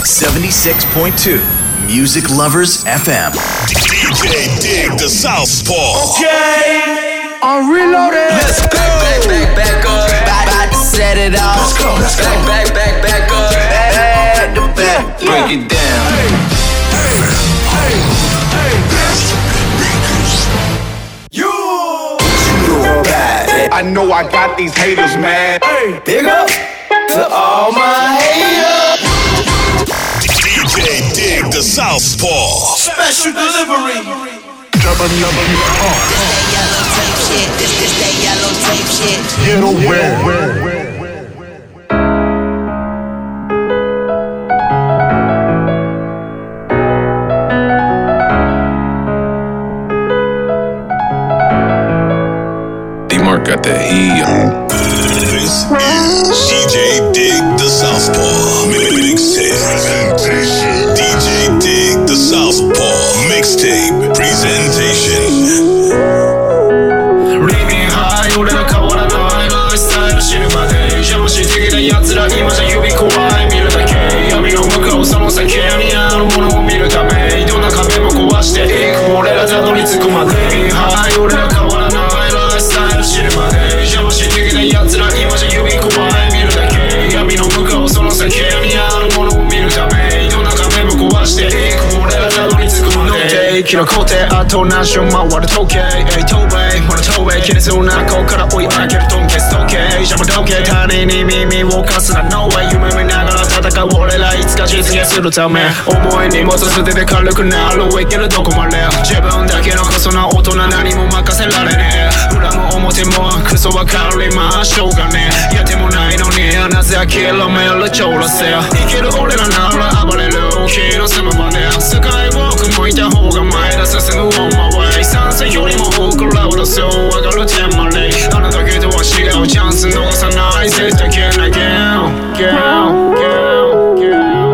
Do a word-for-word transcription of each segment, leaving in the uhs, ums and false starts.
seventy-six point two Music Lovers エフエム D J Dig the Southpaw. Okay, I'm reloaded. Let's go. Back, back, back, back up. About, about to set it off. Let's go, let's go. Back, back, back, back up. Back to back. Break it down. Hey, hey, hey, hey. You. I know I got these haters mad. Hey, Big up to all my haters. D J Dig the Southpaw. special delivery. Double, double, This, this, that yellow tape shit. Get away. D-Mark got that heat. This is D J Dig the Southpaw Mixtape. D J Dig the Southpaw Mixtape Presentation. Living high 俺ら変わらないライフスタイル知るまで邪魔し的な奴ら今じゃ指怖い見るだけ闇の向こうその先にあるものを見るためどんな壁も壊していく俺らたどり着くまで Living high 俺ら変わらないライフスタイル知るまで邪魔し的な奴ら今じゃ指怖い見るだけ闇の向こうその先にあるものを見るためどんな壁も壊していく俺らたどり着くまでキロ工程あと何周回る時計東米ほら東米切れそうな顔から追い上げるトンケス時計邪魔時計他人に耳を貸すな No way 夢見ながら戦う俺らいつか実現するため重い荷物捨てて軽くなるいけるどこまで自分だけのこそな大人何も任せられねえ裏も表もクソわかりましょうがねやってもないのになぜ諦めるちょらせ生きる俺らなら暴れる気の済むまでスカイウォーク向いた方が前だ進む on my way 賛成よりも多くラウドそう上がるテンマレイあなたけとは違うチャンス逃さない絶対消えないゲームゲームゲームゲーム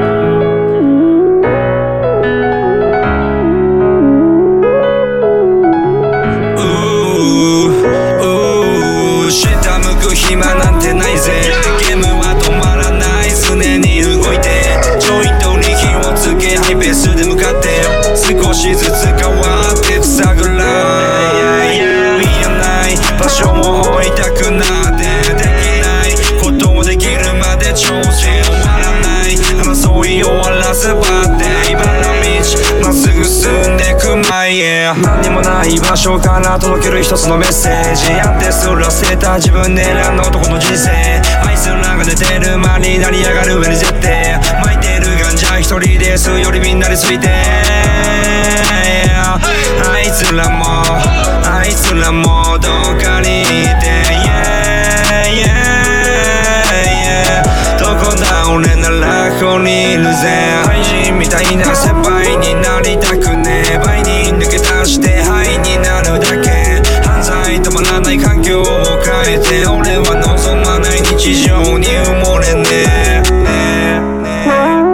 暇なんてないぜゲームは止まらない常に動いてジョイントに火をつけハイペースで向かって少しずつ変わって塞ぐらい見えない場所を置いたくなってできないことをできるまで挑戦終わらない争い終わらせばって今の道まっすぐ進んでく前へ何にもない場所から届ける一つのメッセージやってすら捨てた自分で選んだ男の人生あいつらが寝てる間に成り上がる上に絶対巻いてるガンジャ一人ですよりみんなについてあいつらもあいつらもどっかにいて yeah, yeah, yeah どこだ俺ならここにいるぜ廃人みたいな先輩になりたくねえ倍に抜け出して灰になるだけ犯罪止まらない環境を変えて俺は望まない日常に埋もれねえねえねえ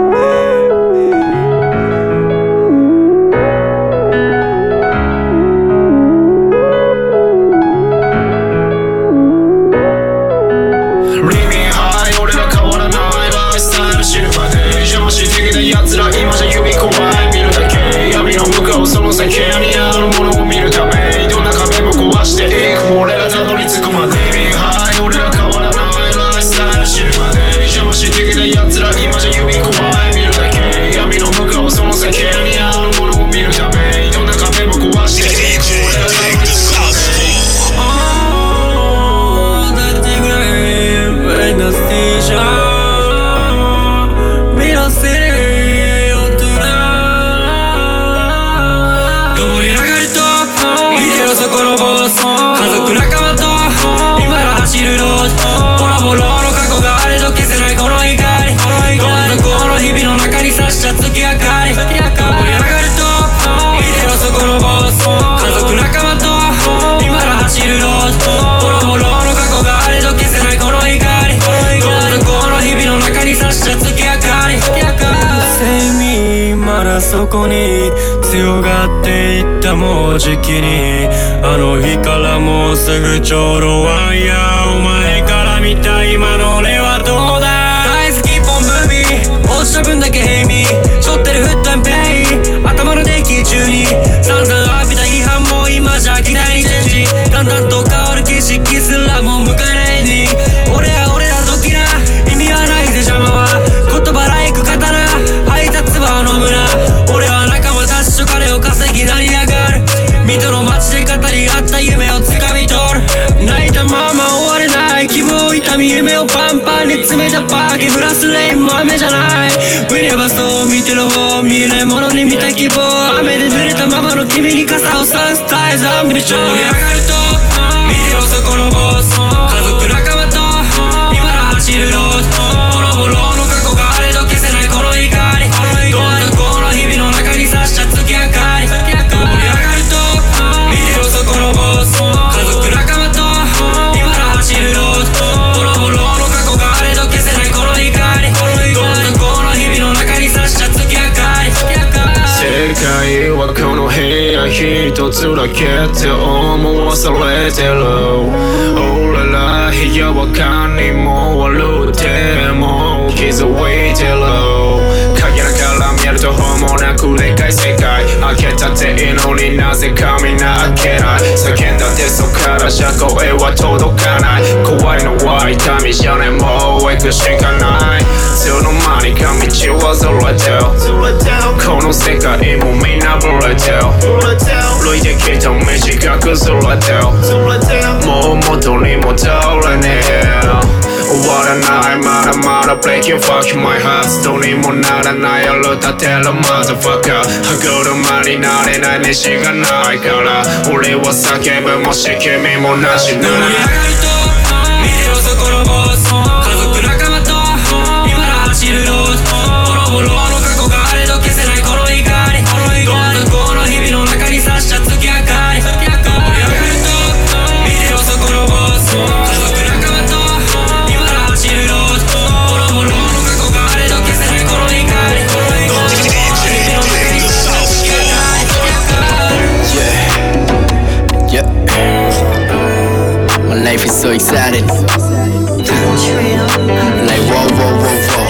Living high 俺ら変わらないライフスタイル知るまで邪魔し的な奴ら今じゃ指怖い見るだけ闇の向こうその先にあるものを見るためどんな壁も壊していく俺らたどり着くまで Living high 俺ら変わらないライフスタイル知るまで邪魔し的な奴ら今じゃ指怖い見るだけ闇の向こうその先にあるものを見るためどんな壁も壊していく俺らたどり着くまでそこのボス家族仲間と今ら走るロードボロボロの過去があれど消せないこの光どん底の日々の中に差した月明かり盛り上がると見てろそこのボス家族仲間と今ら走るロードボロボロの過去があれど消せないこの光どん底の日々の中に差した月明かり生命まだそこに強がっていったもうじきにあの日からもうすぐちょうどワンヤーお前から見た今の俺はどうだ大好きポンムービー落ちた分だけに背負ってるフットンペイ頭のデッキ中に散々浴びた批判も今じゃ期待にチェンジだんだんと変わる景色すらも迎えないに俺は俺だ時な意味はないぜ邪魔は言葉ライク刀配達は飲むな俺は仲間たちと金を稼ぎ成り上がる水戸の街で語り合った夢をつかみ取る泣いたまま終われない希望痛み夢をパンパンに詰めたパーキープラスレインも雨じゃないウィレバスを見てる方見えないものに見た希望雨で濡れたままの君に傘を差す絶えずアンビリション盛り上がると見てろそこのボス家族仲間と今だ走るロードボロボロの過去があれど消せないこの怒りどうなるこの日々の中に差した月明かり盛り上がると見てろそこのボス家族仲間と今だ走るロードボロボロの過去があれど消せないこの怒りどうなるこの日々の中に差した月明かり世界はこの部屋一つだけって思わされてる俺ら部屋は何も悪くても気づいてる影ながら見るとほもなくでかい世界開けたっていいのになぜかみんな開けない叫んだってそっからじゃ声は届かない怖いのは痛みじゃねもう行くしかないいつの間にか道はずれてるこの世界もみんなブレてる歩いてきた道が崩れてるもう元に戻れねえ終わらないまだまだ Breaking fucking my heart どうにもならない夜立てる Motherfucker 歯車になれない飯がないから俺は叫ぶもし君もなしな盛り上がると見てろそこのボス家族仲間と今だ走るロードボロボロの過去があれど消せないこの怒りどうなるこの日々の中に差した月明かり盛り上がると見てろそこのボス家族仲間と今だ走るロードボロボロの過去があれど消せないこの怒りどうなるこの日々の中に差した月明かり Yeah, yeah. My life is so exciting. Like whoa, whoa, whoa, whoa.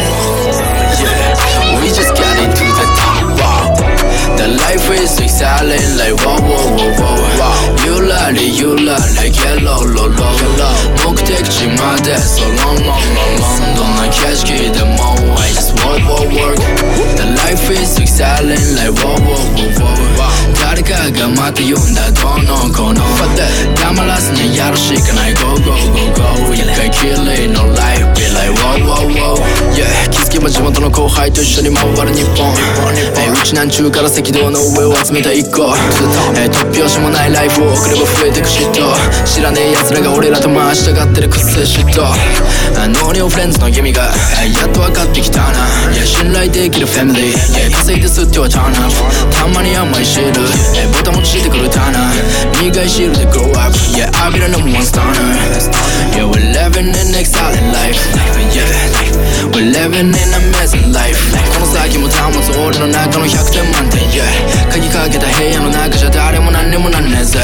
Yeah, we just got into the top. Wow, the life is so exciting. Like whoa, whoa, whoa, whoa. Wow, you love it, you love it. Yellow, low, low, low. 目的地まで so long, long, long, long. どんな景色でも I just work, work, work. The life is so exciting. Like whoa, whoa, whoa, whoa. 誰かがまた呼んだどのこの黙らずにやるしかない Go, go, go, go 一回きりの Life Be like wow, wow, wow Yeah 気づけば地元の後輩と一緒に回る日本えうち南中から赤道の上を集めた一個え突拍子もないライフを送れば増えてく嫉妬知らねえ奴らが俺らと回したがってるくせ嫉妬ノーリオフレンズの意味がやっと分かってきたな Yeah 信頼できるファミリー Yeah 稼いで吸っては turn up たまに甘い汁えボタンもついてくるターナー苦い汁で grow up Yeah I'll be the number one stunner Yeah we're living an exciting life Yeah we're living an amazing life この先も保つ俺の中のひゃくてん満点 Yeah 鍵かけた部屋の中じゃ誰も何にもなんねえぜ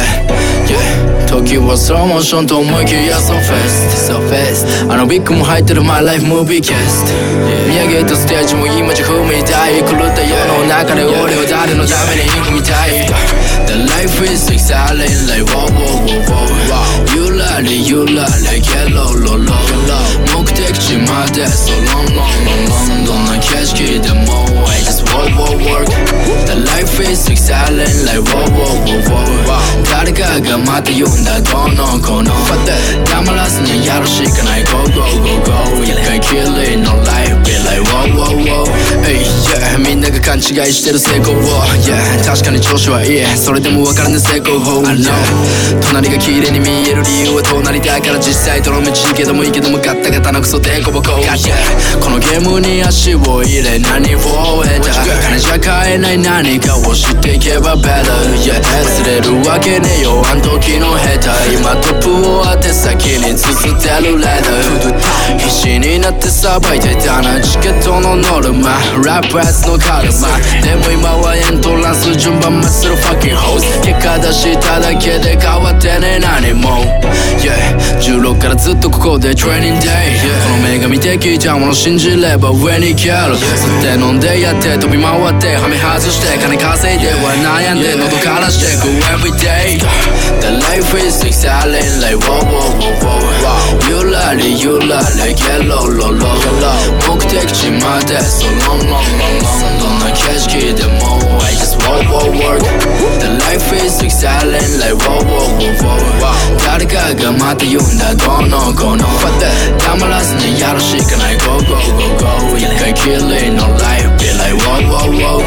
Yeah 時はスローモーションと思いきや So fast So fast あのビッグも入ってる My life movie cast 見上げたステージも今じゃ踏みたい狂った世の中で俺を誰のために踏みたい The life is exciting like wow wow wow wow You love it, you love it, yellow low low 目的地まで so long long long long どんな景色でも I just work work work The life is exciting like wow wow wow wow 誰かがまた呼んだどのこの黙らずにやるしかない Go go go go 一回きりの Life be like wow wow wow Hey yeah みんなが勘違いしてる成功を Yeah 確かに調子はいいそれでも分からんね成功法 I know 隣が綺麗に見える理由は隣だから実際どの道けどもいいけどもガッタガタなクソデコボコ Yeah このゲームに足を入れ何を得た金じゃ買えない何かを知っていけば better Yeah 釣れるわけねえよあん時の下手今トップを当て先に綴ってるレーダー必死になってさばいてたなチケットのノルマラップアスの軽さまあでも今はエントランス順番待つる fucking host 結果出しただけで変わってね何も Yeah じゅうろくからずっとここで training day、yeah、この女神的じゃもの信じれば上に行ける吸って飲んでやって飛び回ってはめ外して金稼いでは悩んで喉からしてく everyday The life is exciting like whoa whoa whoa whoa You love it you love it get low low low low 目的地まで so long long long long どんな景色でも I just whoa whoa work The life is exciting like whoa whoa whoa whoa 誰かがまた言うんだどうのこうの黙らずにやるしかない Go go go go 一回きりの life be like whoa whoa whoa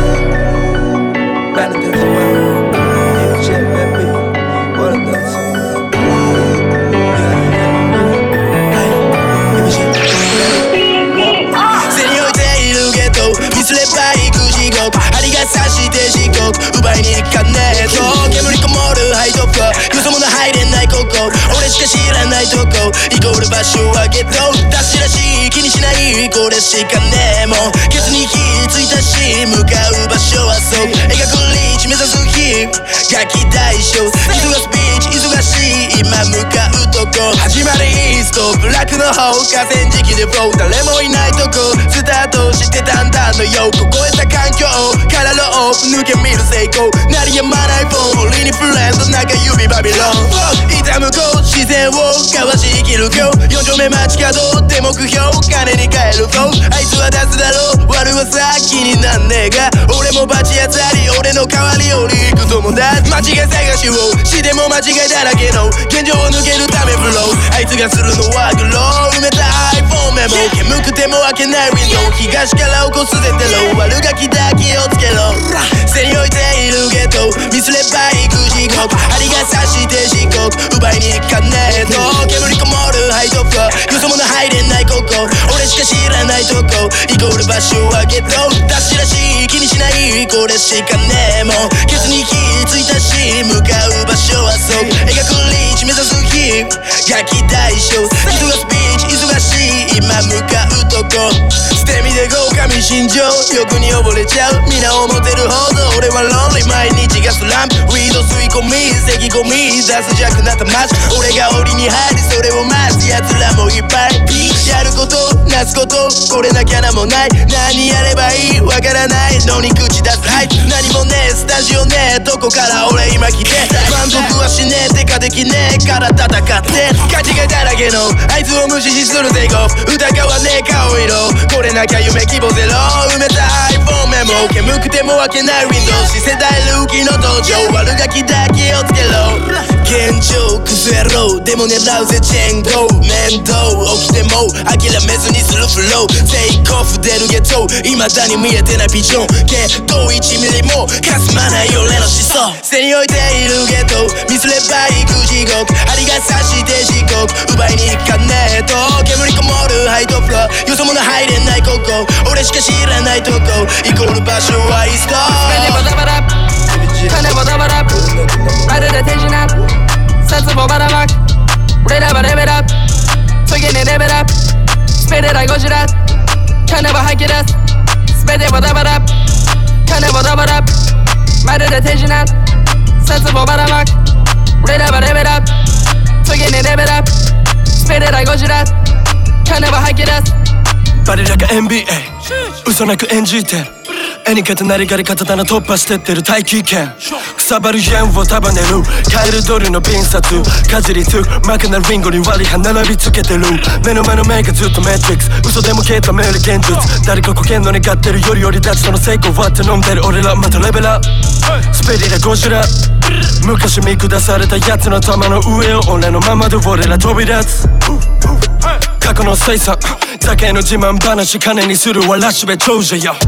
見すれば行く地獄針が刺して地獄奪いに行かねえと煙こもるハイトップよそ者入れないここ俺しか知らないとこイコール場所はゲット出しらしい気にしないこれしかねえもんケツに火ついたし向かう場所はそう描くリーチ目指す日ガキ大将忙すビーチ忙しい今向かうとこ始まりイーストブラックの方河川敷でフロー誰もいないとこスタートしてたんだのよ凍えた環境からのオフ抜け見る成功鳴りやまないフォン俺にフレンド中指バビロン痛むこう視線をかわし生きる今日四丁目街角で目標金に変えるフローあいつは出すだろう悪はさ気になんねえが俺もバチ当たり俺の代わりより行く友達間違い探しをしても間違いだらけの現状を抜けるためフローあいつがするのはグロー埋めた iPhone メモ煙くても開けないウィンドウ東から起こすゼテロ悪ガキだ気をつけろ背に置いているゲット見すれば行く地獄針が刺して地獄奪いに行かねえと煙こもるハイトップよそ者入れないここ俺しか知らないとこイコール場所はゲット出しらしい気にしないこれしかねえもんケツに火ついたし向かう場所はそう描くリーチ目指す日ガキ大将忙すビーチ忙しい今向かうとこ捨て身で豪華未心情欲に溺れちゃう皆思ってるほど俺はロンリー毎日がスランプウィード吸い込み咳込み出す弱なった街俺が檻に入りそれを待つ奴らもいっぱいやることなすことこれなきゃなもない何やればいいわからないのに口出すはい何もねえスタジオねえどこから俺今来て満足はしねえてかできねえから戦って勘違いだらけのあいつを無視しするテイクオフ疑わねえ顔色これなきゃ夢希望ゼロ埋めた iPhone メモ煙くても開けないウィンドウ次世代ルーキーの登場悪ガキだ気をつけろ現状崩れろでも狙うぜチェーンゴー面倒起きても諦めずにするフローテイクオフ出るゲット未だに見えてないビジョンけどいちミリもかすまない俺の思想背に置いているゲット見すれば行く地獄針が刺して地獄奪いに行かねえと煙こもるハイトップよそ者入れないここ俺しか知らないとこイコール場所はイースト金もダバラ金もダバラまるで手品札もばらまく俺らはレベルアップ次にレベルアップスペレラゴジラ金も吐き出す全てもダバラ金もダバラまるで手品札もばらまく俺らはレベルアップ次にレベルアップスペレラゴジラ金も吐き出すバレラが エヌビーエー 嘘なく演じて絵に勝てなりがり刀突破してってる大気圏くさばる弦を束ねるカエルドルのピン札かじりつくマカなリンゴに割り歯並びつけてる目の前の目がずっとメトリックス嘘でも消えためる現実誰かこけんの願ってるよりより立ちとの成功はって飲んでる俺らまたレベラスペリラゴジラ昔見下されたやつの玉の上を俺のままで俺ら飛び立つ過去の生産酒の自慢話金にするわラッシュベ長者よ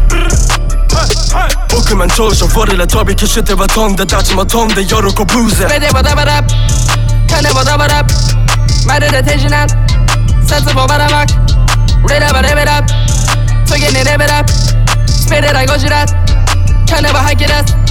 億万長者俺ら飛び消しては飛んだたちも飛んで喜ぶぜ全てもダバラ金もダバラまるで手品札もばらまく俺らはレベルアップ次にレベルアップスペレラゴジラ金も吐き出す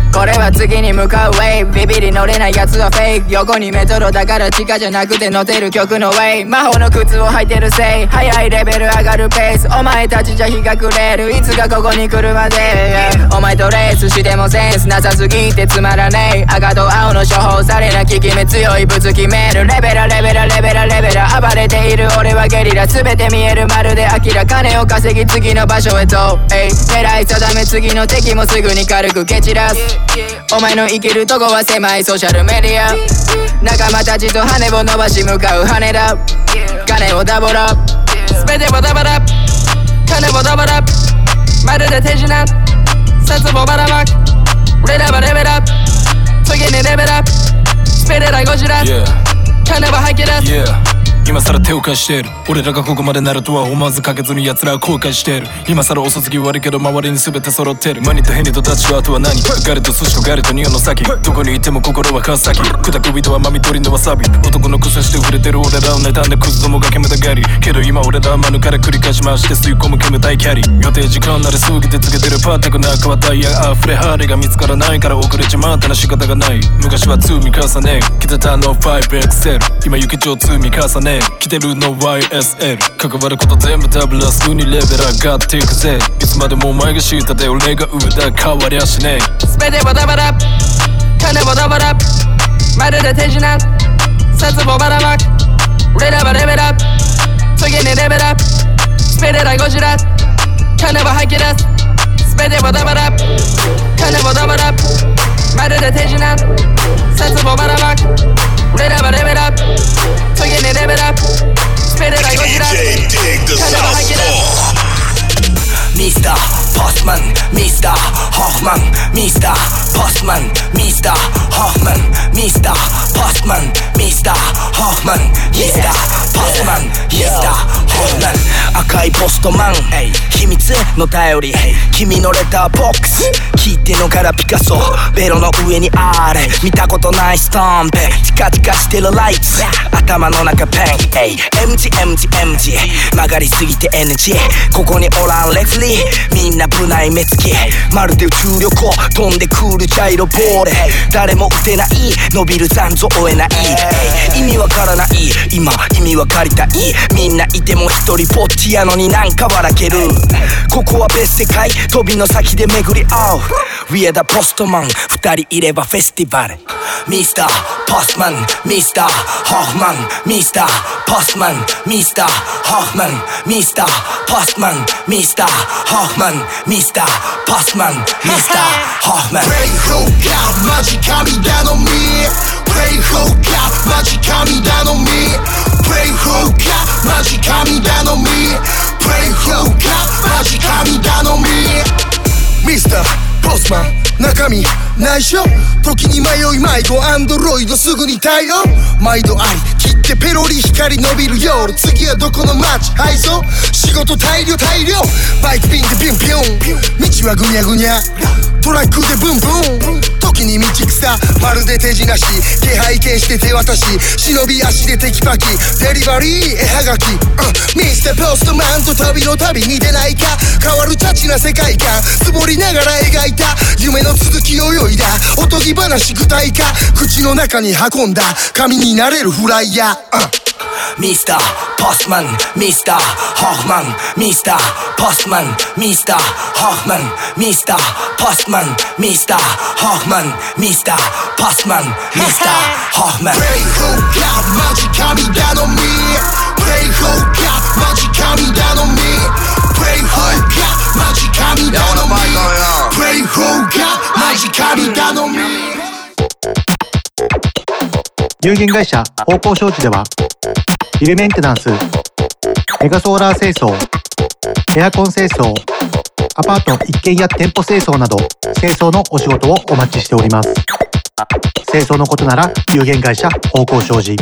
これは次に向かうウェイビビり乗れないやつはフェイク横にメトロだから地下じゃなくて乗ってる曲のウェイ魔法の靴を履いてるせい速いレベル上がるペースお前たちじゃ日が暮れるいつかここに来るまで、yeah、お前とレースしてもセンスなさすぎてつまらねえ赤と青の処方されな効き目強いぶつ決めるレベラレベラレベラレベラ暴れている俺はゲリラ全て見えるまるで明ら金を稼ぎ次の場所へと、えい狙い定め次の敵もすぐに軽く蹴散らすお前の生きるとこは狭いソーシャルメディア仲間たちと羽を伸ばし向かう羽田金をダボラ全てをダバラ金をダバラまるで手品札をばらまくレラバレベラ次にレベラスペレラゴジラ金は吐き出す、yeah. 今更手を貸している俺らがここまでなるとは思わずかけずに奴らは後悔している今更遅すぎ悪いけど周りに全て揃ってるマニとヘニとダッチとあとは何ガレと寿司とガレとニオの先どこにいても心は川崎砕く人はマミトリのわさび男の癖して触れてる俺らを妬んでクズどもが煙たがりけど今俺らは免れ繰り返し回して吸い込む煙たいキャリー予定時間なり過ぎてつけてるパーテクな赤はダイヤ溢れハーレが見つからないから遅れちまったら仕方がない昔はツー見重ね来てたの ファイブエクセル 今雪上ツー見重ね来てるの ワイエスエル 関わること全部ダブラすぐにレベル上がっていくぜいつまでもお前が下で俺が上だ変わりゃしねえ全てをダバラ金をダバラまるで手品札をばらまくレラバレベラ次にレベラスペレラゴジラ金を吐き出す全てをダバラ金をダバラまるで手品札をばらまくレラバレベラ次にレベラスペレラゴジラ金を吐き出すミスターポスマンミスターホフマンミスターポスマンミスターホフマンミスターポスマンミスターホフマンミスターポスマンミスターホフマン赤いポストマン秘密の頼り君のレターボックス聞いてのからピカソベロの上にあれ見たことないスタンプチカチカしてるライツ頭の中ペン エムジーエムジーエムジー 曲がりすぎて エヌジー ここにおらんレフリーみんな部内目つきまるで宇宙旅行飛んでくるジャイロボール誰も打てない伸びる残像追えない意味わからない今意味わかりたいみんないても一人ぼっちやのになんか笑けるここは別世界飛びの先で巡り合う We are the Postman 二人いればフェスティバルミスターポスマンミスターホフマンミスターポスマンミスターホフマンミスターポスマンミスターホフマンミスターポスマンミスターホフマン Pray for God マジ神頼み Pray for God マジ神頼み Pray for God マジ神頼み Pray for God マジ神頼みミスターポスマン中身内緒時に迷い迷子アンドロイドすぐに対応毎度あり切ってペロリ光伸びる夜次はどこの街配送仕事大量大量バイクピンでピュンピュン道はぐにゃぐにゃトラックでブンブン時に道草まるで手品し気配見して手渡し忍び足でテキパキデリバリー絵はがき、uh、ミスターポストマンと旅の旅に出ないか変わるチャチな世界観つぼりながら描いた夢の続きを泳いだおとぎ話具体化口の中に運んだ神になれるフライヤー、uhミスターポスマンミスターホフマンミスターポスマンミスターホフマンミスターポスマンミスターホフマンミスターポスマンミスターホフマン Pray for God マジ神頼み Pray for God マジ神頼み Pray for God マジ神頼み Pray for God マジ神頼み有限会社方向商事ではビルメンテナンス、メガソーラー清掃、エアコン清掃、アパート一軒や店舗清掃など清掃のお仕事をお待ちしております。清掃のことなら有限会社方向商事。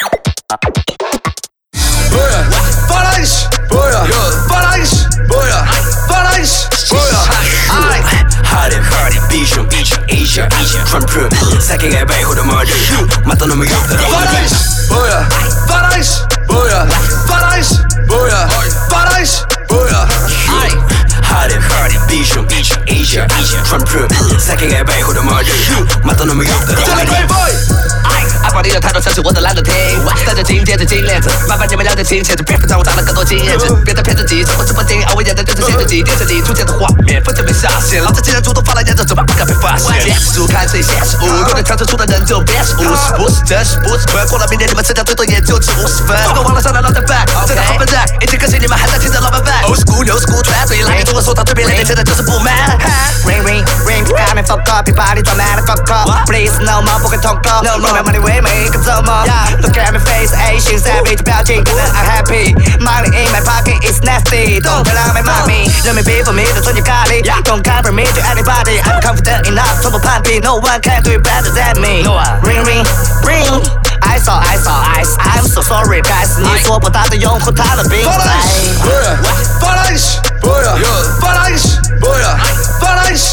Hard and hard and vision, vision, Asia, Asia, Trump, Trump. Second guy by who the murder. Matando me up the Paradise, boya, Paradise, boya, Paradise, boya, Paradise, boya. Hard and hard and vision, vision, Asia. Asia Trump proof 酒がやばいほど回るまた飲むよだろ阿宝你的态度像是我的懒得听大家紧接着金链子麻烦你们了解亲切别让我长了更多经验值别再骗自己什么直播间我演的就是写自己电视里出现的画面分别被下线老子既然主动发了言怎么不敢被发现别是看谁现实物有点强制出的人就别是五十不是真是不是纯过了明年你们吃掉最多也就值五十分不够忘了上来老在 back 真的好笨蛋以前可惜你们还在听着老板 back 欧是古牛是古传所以来年中文说到对面脸现在就是不满 Ring ring ring got me fuck up 别把你装满了 fuck up Please no more 不会通过 No more money with me 可怎么 Look at me face Asian savage 表情可能 I'm happy Money in my pocket is nasty 动态让没骂 me 人民 be for me 的纯洁咖喱 Don't cover me to anybody I'm confident enough 从不攀比 No one can do it better than me Ring ring ring I saw I saw ice I'm so sorry guys 你说不大的用户他的病态 Falange Falange Falange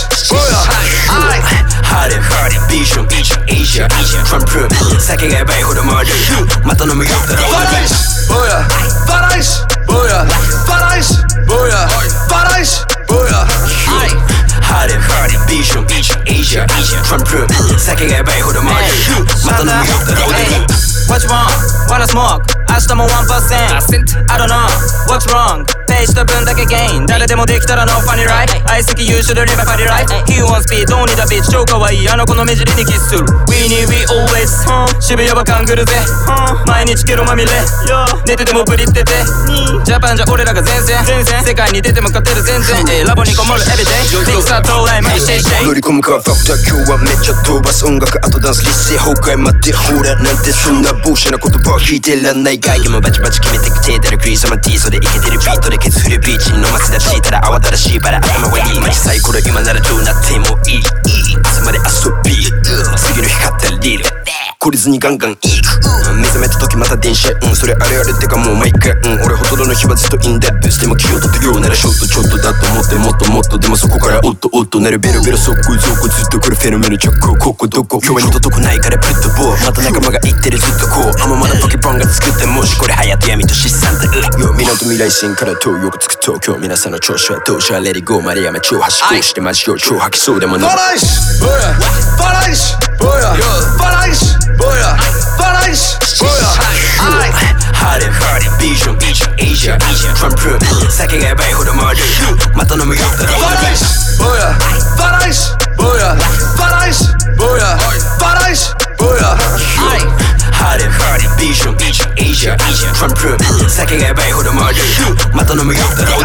I Hard it hard it ビジョンビジョン Asia Trump proof 酒がやばいほど回るまた飲むよだろ Falange Falange Falange Falange Hard it hard it ビジョンビジョン Asia Trump proof 酒がやばいほど回るまた飲むよだろ What's wrong? Wanna smoke? 明日も one percent I don't know What's wrong? ページと分だけ gain 誰でもできたら no funny right 愛すぎ you should live a funny right He wants speed don't need a bitch 超可愛いあの子の目尻にキスする We need we always、huh? 渋谷は勘ぐるぜ、huh? 毎日ゲロまみれ、yeah. 寝ててもブリっててジャパンじゃ俺らが前線世界に出ても勝てる全然、えー、ラボにこもる everyday フィクサー到来無理してして乗り込むかファクター今日はめっちゃ飛ばす音楽あとダンス立勢崩壊待ってほらなんてそんなボーシャな言葉を聞いてらんない外気もバチバチ決めてきてたらクリスマティーそれイケてるビートでケツ振るビーチに飲ませたしたら慌ただしいバラ頭はいいマジサイコロ今ならどうなってもいい朝まで遊び次の日買ったらリール懲りずにガンガンいく目覚めた時また電車うんそれあれあれってかもう毎回うん俺ほとんどの日はずっとインデップスでも気を取ってようならショットちょっとだと思ってもっともっとでもそこからおっとおっとなるベロベロ速攻走行ずっと来るフェノメノ直行ここどこ今日は二度とこないからプットボーまた仲間が言ってるずっとこうあままだポケポンが作ってもしこれ隼人闇と資産だよ港未来線から東よくつく東京皆さんの調子はどうじゃレディゴーマリアメ超端こうしてマジを超吐きそうでもない Falange Falange Falange Falange I Hard it hard it ビジョンビジョン Asia Trump proof 酒がやばいほど回るまた飲むよだろ Falange Falange Falange Falange I Hard it hard it ビジョンビジョン Asia Trump proof 酒がやばいほど回るまた飲むよだろ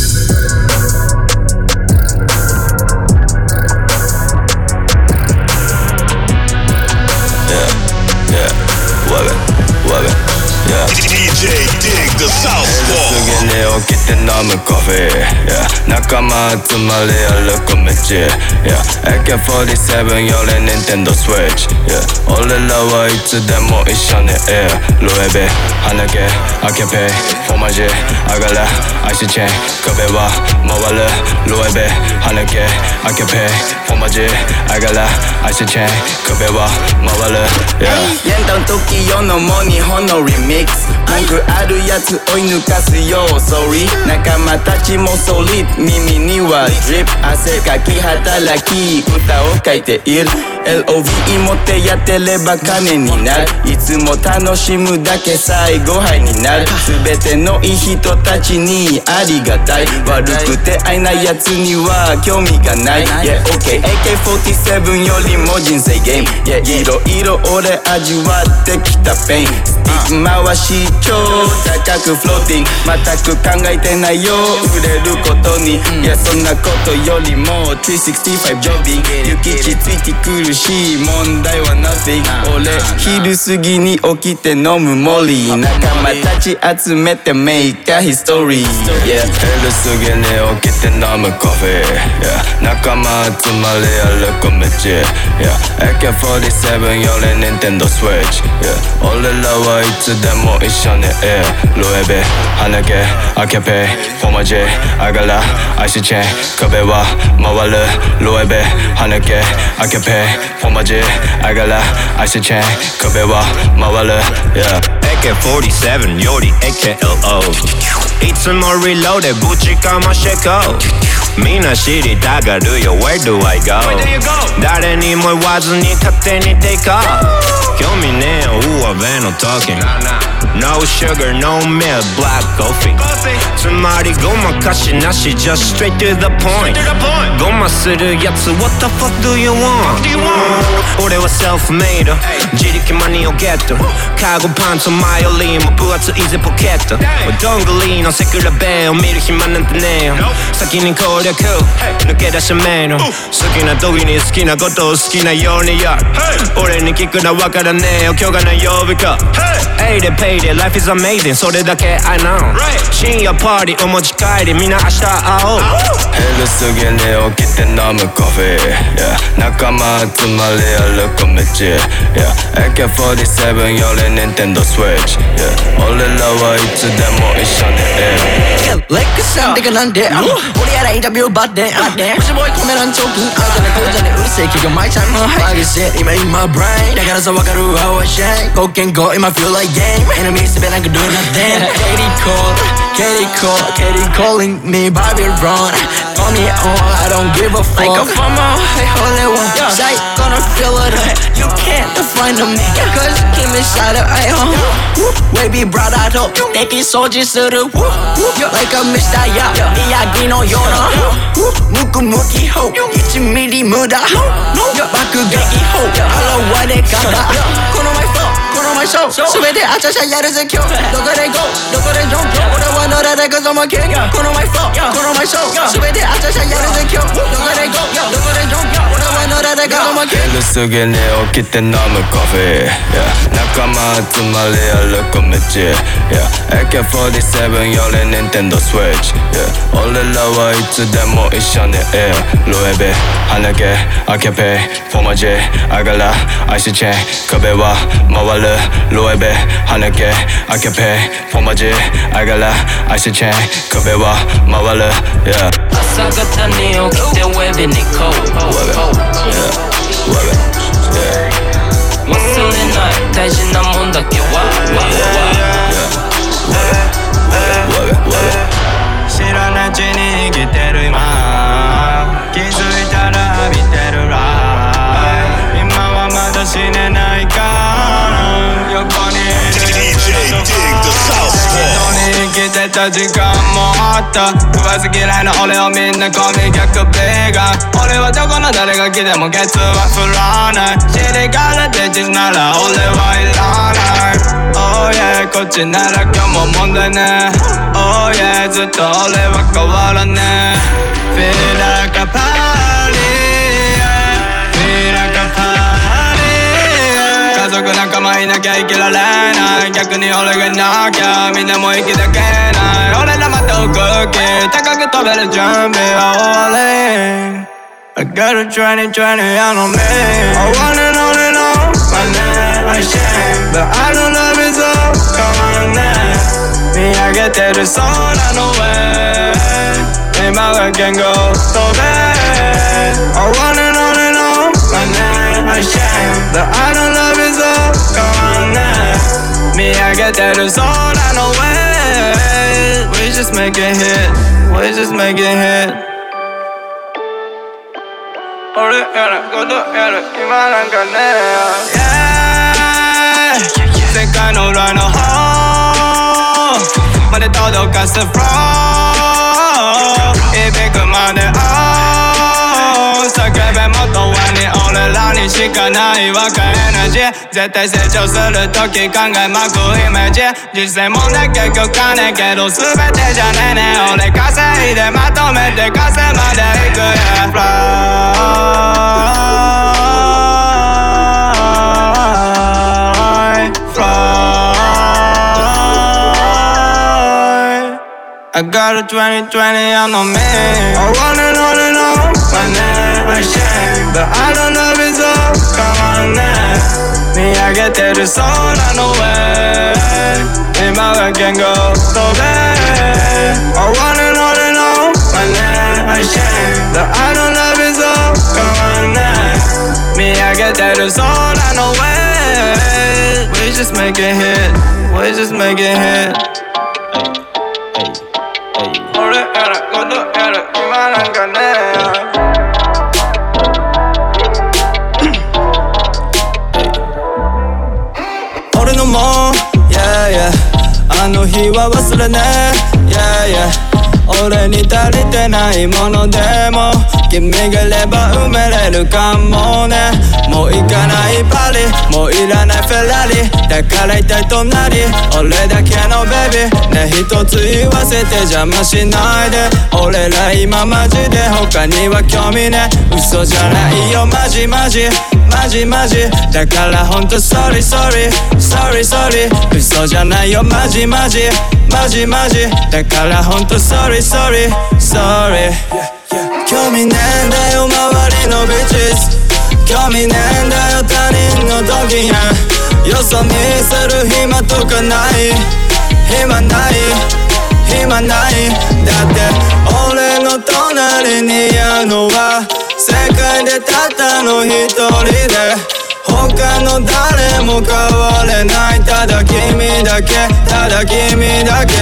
D J Dig the Southpaw すぐに起きて飲むコーヒー、yeah. 仲間集まり歩く道、yeah. エーケーフォーティーセブン より Nintendo Switch、yeah. 俺らはいつでも一緒にいるルイビー、花毛、アキャペイ、フォマジ、上がる、アイシチェーン、壁は回るルイビー、花毛、アキャペイ、フォマジ、上がる、アイシチェーン、壁は回る、yeah. やんだん時世のも日本のリミックス文句あるやつ追い抜かすよ Sorry 仲間たちもソリッド耳にはドリップ汗かき働き歌を書いている エルオーブイ 持ってやってれば金になるいつも楽しむだけ最後杯になる全てのいい人たちにありがたい悪くて愛ないやつには興味がない Yeah OK エーケーフォーティーセブン よりも人生ゲーム Yeah いろいろ俺味わってきたペインスティック回し超高くフローティング全く考えてないよ売れることに Yeah そんなことよりもさんびゃくろくじゅうごジョビング諭吉ついてくるし問題は nothing 俺昼過ぎに起きて飲むモリー仲間たち集めて make a history Yeah 昼過ぎに起きて飲むコーヒー、yeah. 仲間集まり歩く道、yeah. エーケーフォーティーセブン より Nintendo Switch、yeah. 俺らはいつでも一緒にいるルイビー、花毛、アキャペイ、フォマジ、上がる、アイシチェーン、壁は回るルイビー、花毛、アキャペイ、フォマジ、上がる、アイシチェーン、壁は回る、yeah. エーケーフォーティーセブン より エーケーエルオーいつもリローでぶちかましてこうみんな知りたがるよ Where do I go 誰にも言わずに勝手にtake off興味ねえよ上辺の talking No sugar, no milk, black coffee つまりごまかしなし Just straight to the point ごまするやつ What the fuck do you want 俺は self-made 自力マニをゲットカゴパンツ前よりも分厚いぜポケットどんぐりのセクラベを見る暇なんてねえよ先に攻略抜け出しめえの好きな時に好きなことを好きなようにやる俺に聞くのわからねえよ今日が何曜日か A で Pay で Life is amazing それだけ I know 深夜パーティーお持ち帰りみんな明日会おうヘルすぎに起きて飲むコーヒー、yeah、仲間集まり歩く道、yeah、エーケーフォーティーセブン より Nintendo Switch、yeah、俺らはいつでも一緒にいるレックさんてかなんで俺やらインタビューバッテンもしもいコメ欄長金あなたの口座にうるせえ企業マイチャイムバグして今 in my brain だからさわかる how I shine 貢献後今 feel like game enemy すべなんか do nothing Katie call Katie call Katie calling me Babylon Call me on I don't give a fuck Like a FOMO Hey holy one Say gonna feel it You can't define me Cause keep me inside of I home Baby brother to 敵掃除する Like a Mister Ya 宮城のようなムクムキホいちミリ無駄爆撃砲現れ方このマイフローこのマイショー全てあちゃちゃやるぜ今日どこで GO どこで ジョン 俺は乗られくぞもけこのマイフローこのマイショー全てあちゃちゃやるぜ今日どこで GO どこで ジョン 俺は乗られくぞもけ昼過ぎに起きて飲むコーヒー、yeah、仲間集まり歩く道、yeah、エーケーフォーティーセブン より Nintendo Switch、yeah、俺らはいつでも一緒にいるロエベ鼻毛アケペフォマジあがらアイスチェーン壁は回るロエベ鼻毛アケペフォマジあがらアイスチェーン壁は回る、yeah、 朝方に起きてウェブにこう忘れない大事なもんだけは知らないうちに生きてる今気づいたら見てるライ今はまだ死ねないから横にいる生きてた時間もあった食わず嫌いな俺をみんなコミ逆ベーガン俺はどこの誰が来てもケツは振らない尻から出てなら俺はいらない Oh yeah こっちなら今日も問題ね Oh yeah ずっと俺は変わらね Feel like a party Feel like a party 家族仲間いなきゃ生きられない逆に俺がいなきゃみんなも生きてけない俺らまた動き高く飛べる準備は終わりI got a twenty twenty on me I want it on and on My name I shame But I don't love it so Come on now 見上げてる空の上今は言語飛べ I want it on and on My name I shame But I don't love it so Come on now 見上げてる空の上 We just make it hit We just make it hit俺やることやる今なんかね Yeah 世界の裏の方まで届かすフロー響くまで Oh 叫べもっと上に俺らにしかない若いエナジー絶対成長するとき考えまくイメージ実際問題結局金けど全てじゃねえね俺稼いでまとめて稼まで行くや Fly Fly I got a twenty twenty on me I want it on and on My name I shame But I don't love it so Come on now 見上げてる空の上今は言語飛べ I want it on and on My name I shame But I don't love it so Come on now 見上げてる空の上 We just make it hit We just make it hit れね Yeah yeah 俺に足りてないものでも君がいれば埋めれるかもねもう行かないパリもういらないフェラリだから一体隣俺だけのベビーね一つ言わせて邪魔しないで俺ら今マジで他には興味ね嘘じゃないよマジマジマジマジだからほんと sorry sorry sorry sorry 嘘じゃないよマジマジマジマジだからほんと sorry sorry sorry 興味ねえんだよ周りのビッチズ興味ねえんだよ他人のドキやよそ見する暇とかない暇ない暇ないだって俺の隣にいるのは世界でたったの一人で他の誰も変われないただ君だけただ君だけ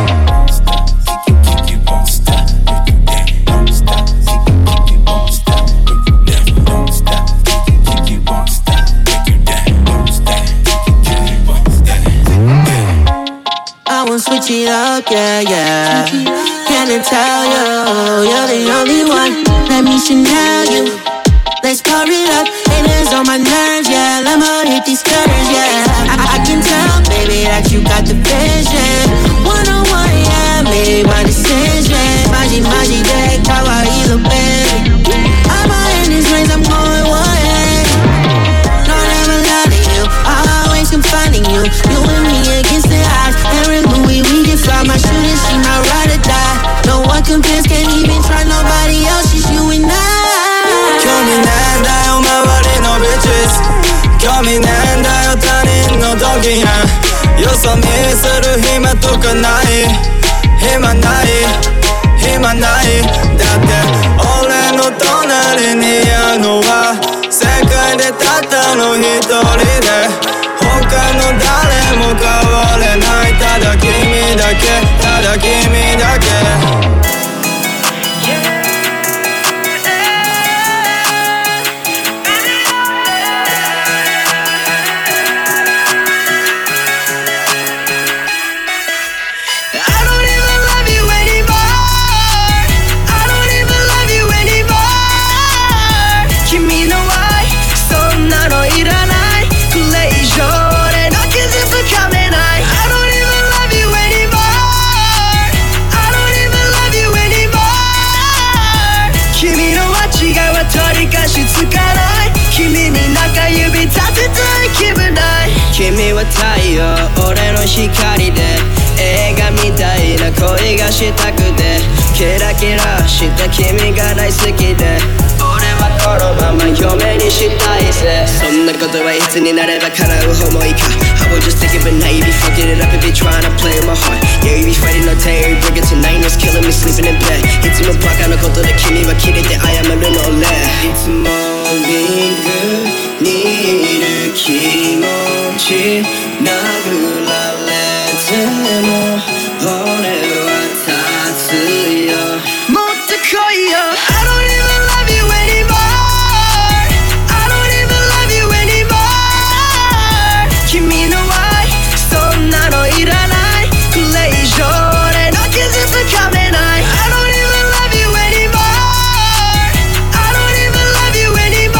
Switch it up, yeah, yeah. Can I tell you, you're the only one. Let me Chanel you. Let's pour it up. Haters on my nerves, yeah. I'ma hit these curves, yeah. I, I can tell, baby, that you got the vision. One on one, yeah, made my decision. Maji, maji, de kawaii, little baby. I'm out in this race, I'm going one way. No, never lie to you. I'll always come finding you. You and me against the odds. My shooting, she my ride or die. No one compares, can't even try nobody else. It's you and I. 興味ねえんだよ周りのビッチズ興味ねえんだよ他人のドキやよそ見する暇とかない暇ない暇ないだって俺の隣にいるのは世界でたったの一人で他の誰も変われないただ君だけただ君だけ君は太陽俺の光で映画みたいな恋がしたくてキラキラした君が大好きで俺はこのまま嫁にしたいぜそんなことはいつになれば叶う思いか I will just think of it now you be fucking it up if you're trying to play with my heart Yeah you be fighting no terror bring it tonight it's killing me sleeping in bed いつもバカなことで君はキレて謝るの俺いつもリングにいる気持ち殴られても俺は立つよもっと来いよ I don't even love you anymore I don't even love you anymore 君の愛そんなのいらないこれ以上俺の傷つかめない I don't even love you anymore I don't even love you anymore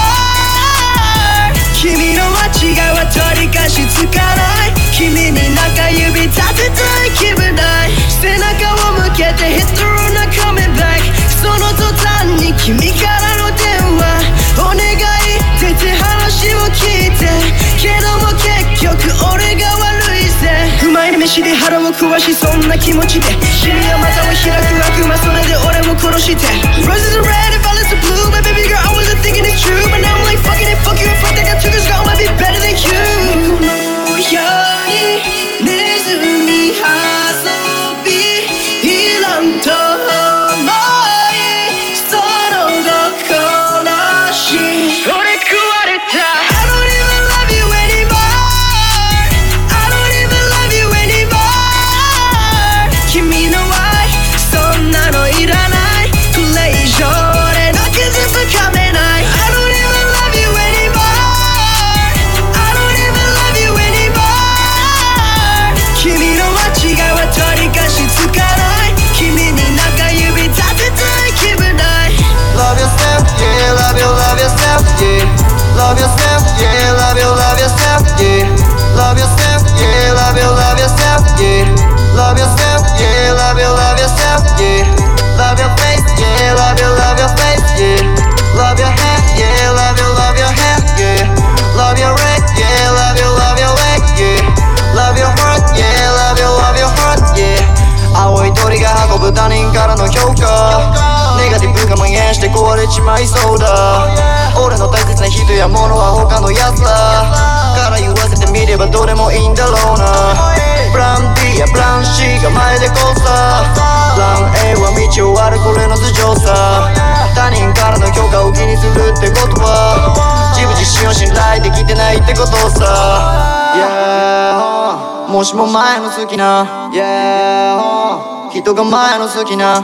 君の間違いは取り返しつかない君に中指立てたい気分ない背中を向けて Hit the road not coming back その途端に君からの電話お願い出て話を聞いてけども結局俺が悪いぜうまい飯で腹を壊しそんな気持ちで死には股を開く悪魔それで俺も殺して Roses are red and violets are blue My baby girl I wasn't thinking it's true But now I'm like fucking it fuck you and fuck that got two girls girl I might be better than you よりネズミ遊びいらんと思いその後悲しい俺食われた I don't even love you anymore I don't even love you anymore 君の愛そんなのいらないこれ以上現して壊れちまいそうだ俺の大切な人や物は他のやつだから言わせてみればどれもいいんだろうなプラン B やプラン C が前でこうさプラン A は道を割るこれの頭上さ他人からの評価を気にするってことは自分自身を信頼できてないってことさ Yeah もしも前の好きな Yeah 人が前の好きな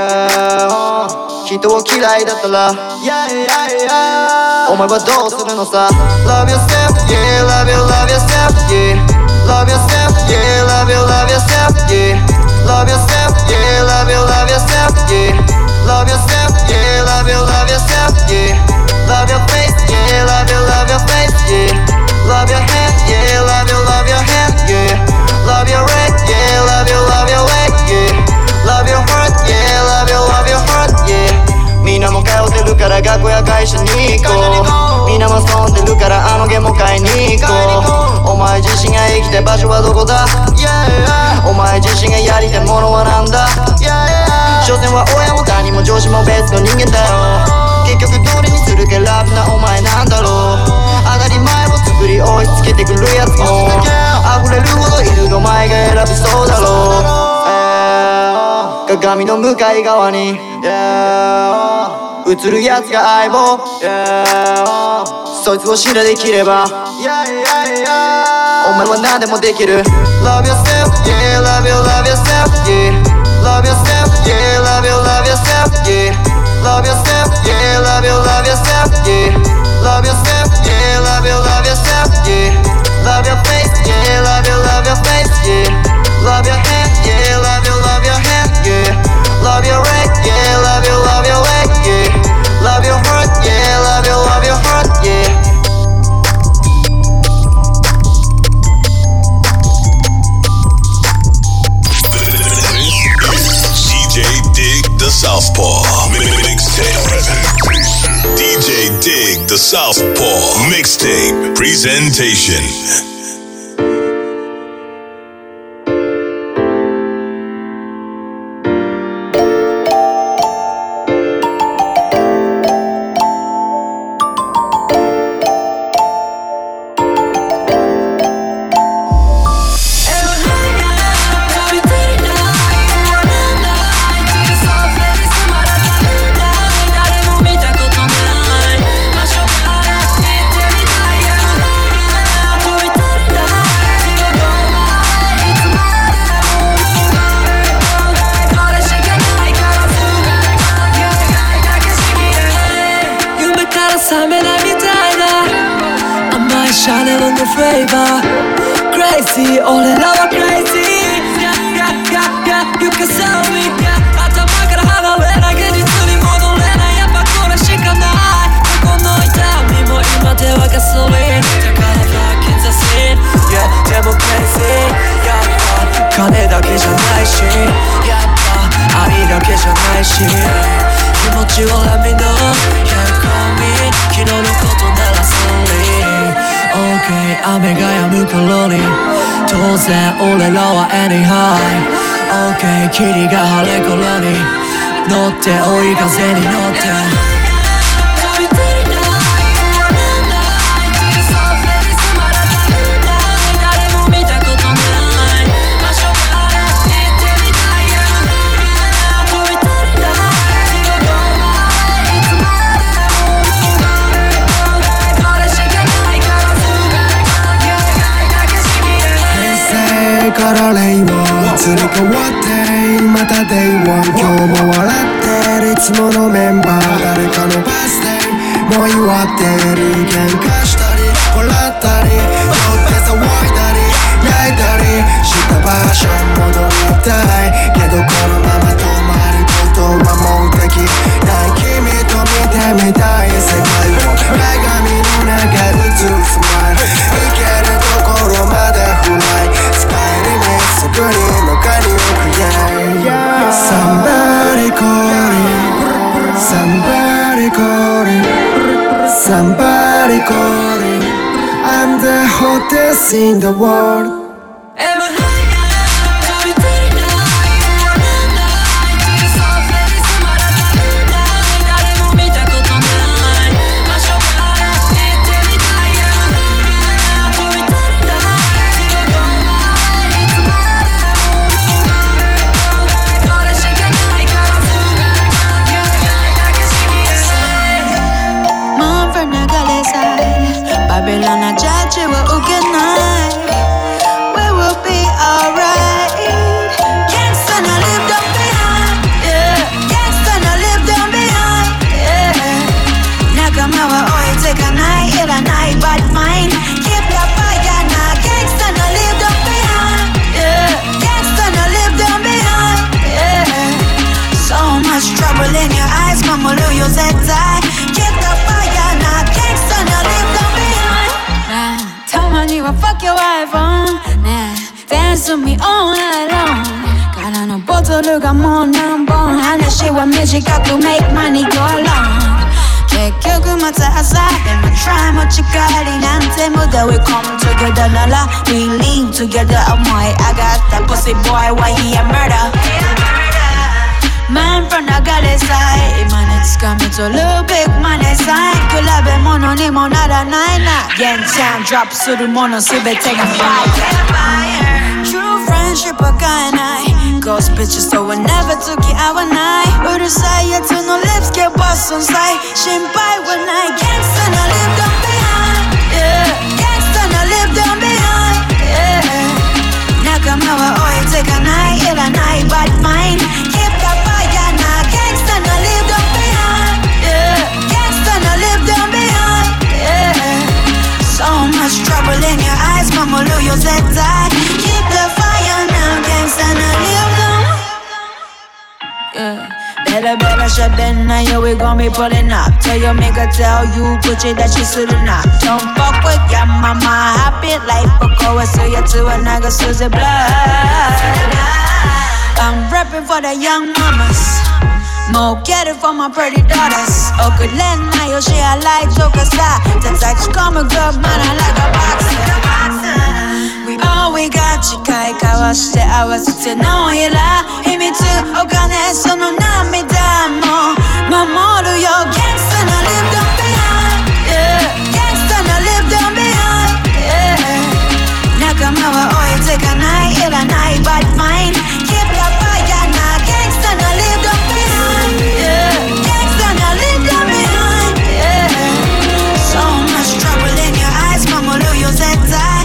Yeah 人を嫌いだったら Yeah yeah yeah お前はどうするのさ Love yourself yeah love you love yourself yeah Love yourself yeah love you love yourself yeah Love yourself yeah love you love yourself yeah Love yourself yeah love you love yourself yeah Love your face yeah love you love your face yeah Love your hand yeah love you love your hand yeah Love your red yeah love you love your leg yeah Love your heart yeah love you love your heart yeah みんなも通ってるから学校や会社に行こうみんなも遊んでるからあのゲーム買いに行こうお前自身が生きたい場所はどこだ Yeah お前自身がやりたいものはなんだ Yeah 所詮は親も他人も上司も別の人間だよ結局どれにするかラブなお前なんだろう当たり前を作り押し付けてくるやつも溢れるほどいるお前が選びそうだろう、えー、鏡の向かい側に、yeah、映るやつが相棒、yeah、そいつを信頼できれば、yeah, yeah, yeah、お前は何でもできる Love yourself, yeah, love you, love yourself, yeah Love yourself, yeah, love you, love yourself, yeah Love yourself, yeah, love you, love yourself, yeah Love yourself, yeah, love you, love yourself, yeah Love your face, yeah, love you, love your face, yeah Love your hand, yeah, love you, love your hand, yeah Love your leg, yeah, love you, love your leg, yeah Love your heart, yeah, love you, love your heart, yeah The Southpaw Mixtape. D J Dig the Southpaw Mixtape Presentation. Crazy, 俺らは crazy Yeah, yeah, yeah, yeah, you can sell me Yeah, 頭から離れない現実に戻れないやっぱこれしかないここの痛みも今ではガソリンだから back in the scene Yeah, でも crazy やっぱ金だけじゃないしやっぱ愛だけじゃないし気持ちを let me know Yeah, call me 昨日のことなら sorry OK 雨が止む頃に当然俺らは anyhow OK 霧が晴れ頃に乗って追い風に乗ってから令和移り変わってまた デイワン 今日も笑ってるいつものメンバー誰かのバースデーもう祝ってる喧嘩したり笑ったり酔って騒いだり泣いたりした場所戻りたいけどこのまま止まることはもうできない君と見てみたい世界を鏡の中映すスマイルいけるところまでフライすぐに中に置く yeah Somebody calling Somebody calling Somebody calling I'm the hottest in the world 対 Keep the fire now Gangsta now leave them behind たまには Fuck your iPhone ねえ Dance with me all night long 空のボトルがもう何本話は短く Make money go along 結局また朝でも Try 持ち帰りなんて無駄 We come together なら We lean together 思い上がった Pussy boy why he a murder Man from 流れさえ今につかみと Little big money sign 比べ物にもならないな現ちゃん Drop するものすべてが Fire True friendship は買えない Ghost bitches とは never 付き合わないうるさいやつの lips get bust on sight 心配はない Gangsta now leave them behind Yeah Gangsta now leave them behind Yeah 仲間は置いてかないいらない But fine Keep the fire now Gangsta now leave them behind Yeah Gangsta now leave them behind Yeah So much trouble in your eyes 守るよ絶対 Keep the fire now Gangsta now leave them Yeah Better, better, shut that now, yo, we gon' be pulling up Tell your nigga, tell you, Gucci that she should've not Don't fuck with your mama, happy life Boko, so you to a nigga, Susie Blood I'm reppin' for the young mamas Mo get it for my pretty daughters Okay, let now, yo, she a light joker side That's like she call me good, man, I like a boxer We all we got 誓い交わして合わせてのひら秘密お金その涙も守るよ Gangsta now leave them behind Yeah Gangsta now leave them behind Yeah 仲間は置いてかないいらない But fine Keep the fire now Gangsta now leave them behind Yeah Gangsta now leave them behind Yeah So much trouble in your eyes 守るよ絶対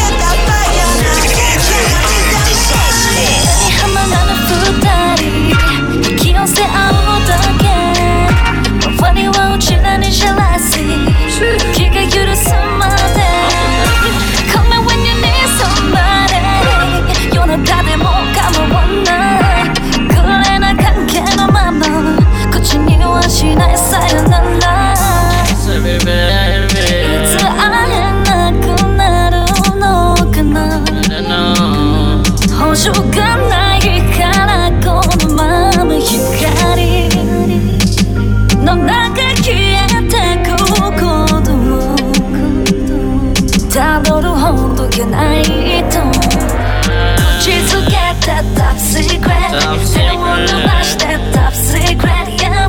気をせ合うだけ周りはうちらにジェラシー気が許すまで Call me when you need somebody 夜中でも構わないくれな関係のまま口にはしないさよならいつ会えなくなるのかな保証がないからこのまま光の中消えてくことをたどるほどけないと打ちつけた Top secret 手を伸ばして Top secret Yeah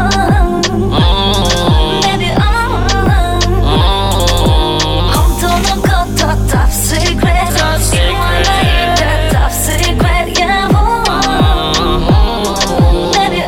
Baby oh 本当のこと Top secret 言わないで Top secret Yeah Baby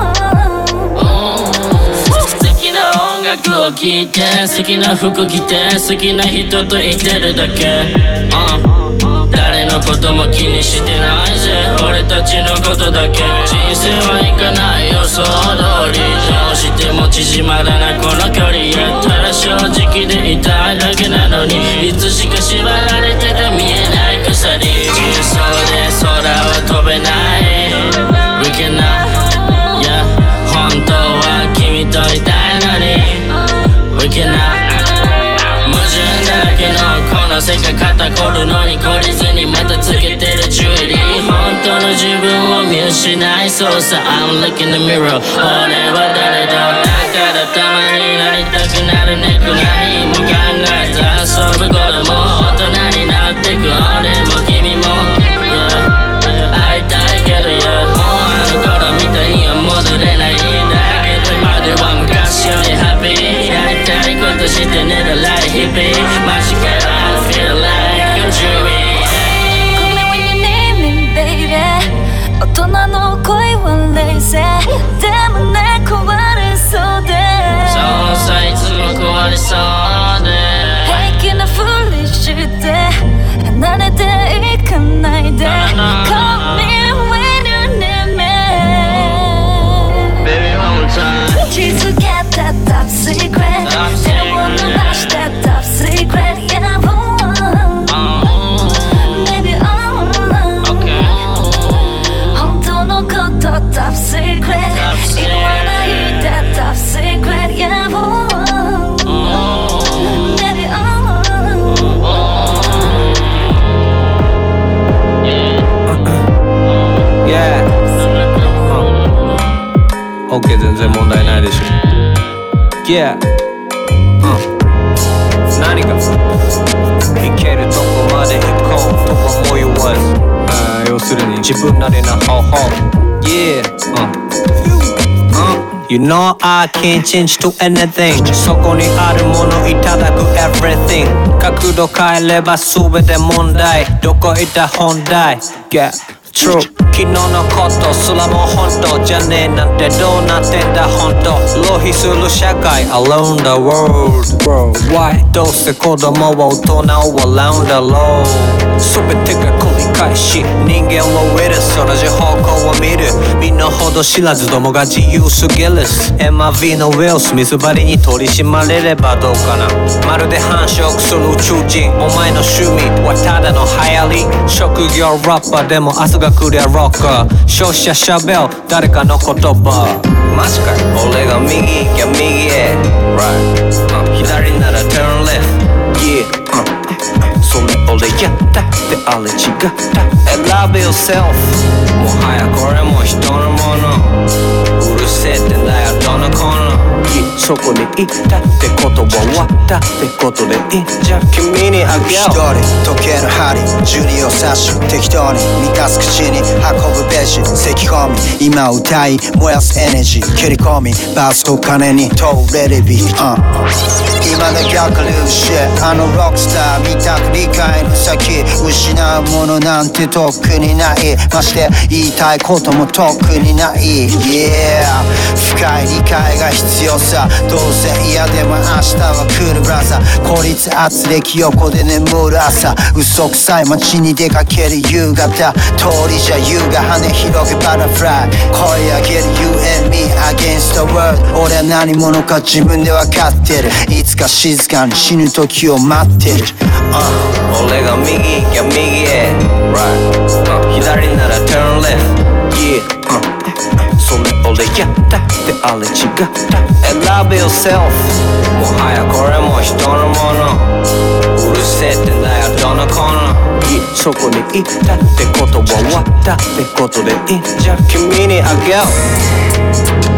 oh 素敵な音楽を聴いて好きな服着て好きな人といてるだけ、uh誰のことも気にしてないぜ俺たちのことだけ人生はいかない予想通りどうしても縮まらないこの距離やったら正直でいたいだけなのにいつしか縛られてて見えない鎖人相で空は飛べない We cannot Yeah 本当は君といたいのに We cannot矛盾だらけのこの世界肩こるのに懲りずにまたつけてるジュエリー本当の自分を見失いそうさ I'm looking in the mirror 俺は誰だだからたまになりたくなるねく何も考えず遊ぶ頃も大人になってく俺も君も、yeah、会いたいけど、yeah、もうあの頃みたいには戻れないだけど今では昔よりハッピーやりたいことして寝るライヒッピーマジかよ I feel like a dream Call me when you need me baby 大人の恋は冷静でもね壊れそうでそうさいつも壊れそうで平気なふりして離れていかないで Call me when you need me Baby one more time 打ちつけた Top secret 手を伸ばして Top secret Yeah Baby oh Okay 本当のこと Top secret 言わないで Top secret いないでしょ。 Yeah、うん、何がいけるとこまで行こうと思いは、あー要するに自分なりの方法。 Yeah、うん、うんYou know I can't change to anything そこにあるものいただく everything 角度変えれば全て問題どこ行った本題 Get true 昨日のことすらも本当じゃねえなんてどうなってんだ本当浪費する社会 Around the world Worldwide どうせ子供は大人を Around the road 全てが繰り返し人間をウイルス同じ方向を見る身の程知らずどもが自由すぎる エムアールブイ のウィル・スミスばりに取り締まれればどうかなまるで繁殖する宇宙人お前の趣味はただの流行り職業ラッパーでも明日が来りゃロッカー消費者しゃべる誰かの言葉マジかい俺が右行きゃ右へ Right、uh, 左なら turn left Yeah、uh, それ俺やったってあれ違った選べ yourself もはやこれも人のものうるせえってんだよどのコーナーそこに行ったってことは終わったってことでいいんじゃ君にあげよう一人時計の針十二を刺し適当に満たす口に運ぶべし咳込み今歌い燃やすエネジー蹴り込みバースと金に通れるビート、uh、今の逆流シあのロックスター見たく理解の先失うものなんてとっくにないまして言いたいこともとっくにない Yeah 深い理解が必要さどうせ嫌でも明日は来るブラザー孤立圧力横で眠る朝嘘くさい街に出かける夕方通りじゃ優が羽広げバタフライ声上げる You and me against the world 俺は何者か自分で分かってるいつか静かに死ぬ時を待ってる、 uh、俺が右行きゃ右へ Right、uh、左なら turn left Yeah、uh、それ俺やったってあれ違った選べ yourself もはやこれも人のものうるせえってんだよどのコーナーそこに行ったってことは終わったってことでいいんじゃ君にあげよう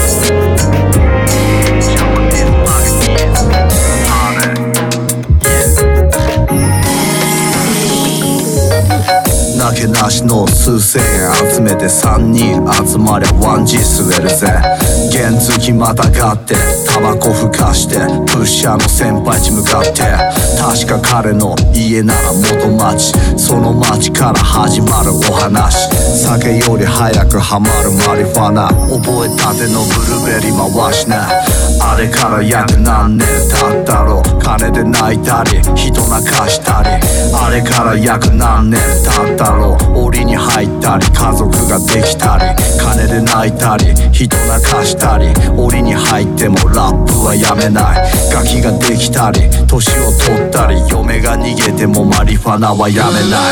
なけなしの数千円集めて三人集まりゃワンジー吸えるぜ原付またがってタバコふかしてプッシャーの先輩地向かって確か彼の家なら元町その町から始まるお話酒より早くハマるマリファナ覚えたてのブルーベリー回しなあれから約何年経ったろう金で泣いたり人泣かしたりあれから約何年経ったろう檻に入ったり家族ができたり金で泣いたり人泣かしたり檻に入ってもラップはやめないガキができたり年を取ったり嫁が逃げてもマリファナはやめない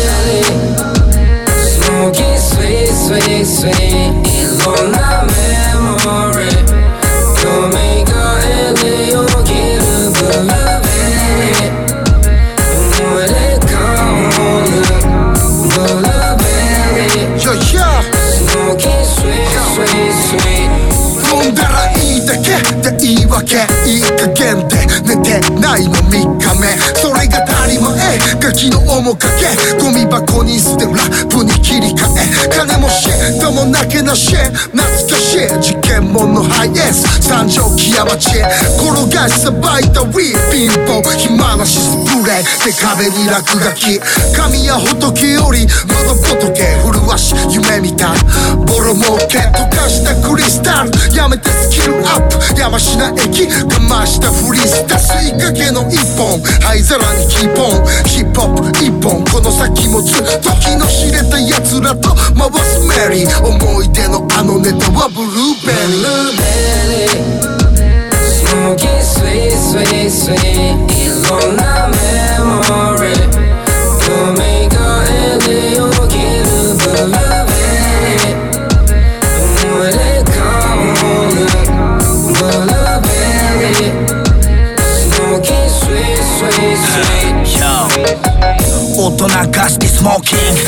Smoking sweet sweet sweet いろんなメモリー蘇ってよぎるブルーベリー思い出香るブルーベリー Smoking sweet sweet sweet 飲んだらいいだけで言い訳いい加減で寝てないのみっかめそれが当たり前ガキの面影ゴミ箱に捨てラップに切り替え金もシェどもなけなし懐かしい事件ものハイエース三条木屋町転がしさばいたウィーピンポン暇なしスプレーで壁に落書き神や仏より喉仏麗し夢見たボロ儲け溶かしたクリスタルやめてスキルアップ山科駅かましたフリスタ吸いかけの一本灰皿にキーポンヒップホップ一本この先もずっと気の知れた奴らと回すメリー思い出のあのネタはブルーベリー Smoking sweet sweet sweet いろんなメモリー蘇ってよぎるブルーベリー思い出香るブルーベリー Smoking sweet sweet sweet 大人が好きスモーキング大人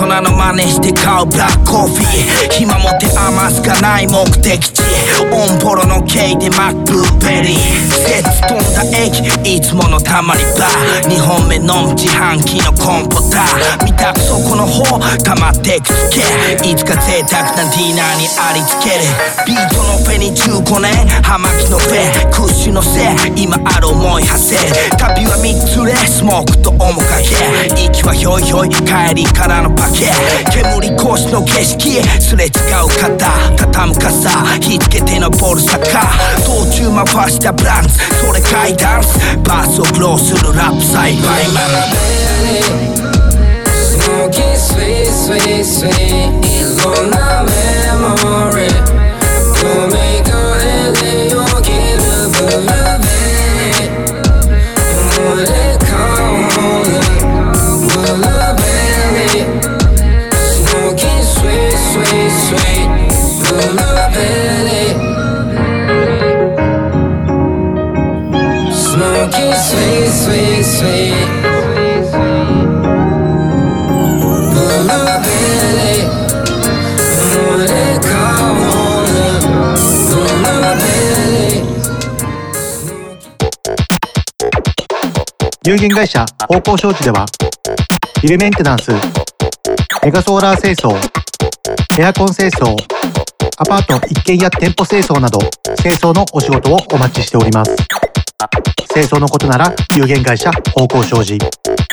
人の真似して買うブラックコーヒー暇持て余すかない目的地オンポロの系でマックブルーベリーセッツ飛んだ駅いつものたまり場にほんめ飲む自販機のコンポター見たくそこの方溜まってくつけいつか贅沢なディナーにありつけるビートのフェにじゅうごねん葉巻のフェクッシュのせい今ある思い馳せ旅はみっつでスモークと面影息はひょいひょい帰りからのパケ煙越しの景色すれ違う肩畳む傘火つけてのボルサカ道中回したブランスそれガイダンスバースをグローするラップサイバイマン Smoking sweet, sweet, sweet いろんなメモリー読み替えでよぎるブルーベリー思い出香るブルーベリー Smoking sweet, sweet, sweet ブルーベリー Smoking sweet, sweet, sweet 有限会社方向商事ではビルメンテナンス、メガソーラー清掃、エアコン清掃、アパート一軒家店舗清掃など清掃のお仕事をお待ちしております。清掃のことなら有限会社方向商事。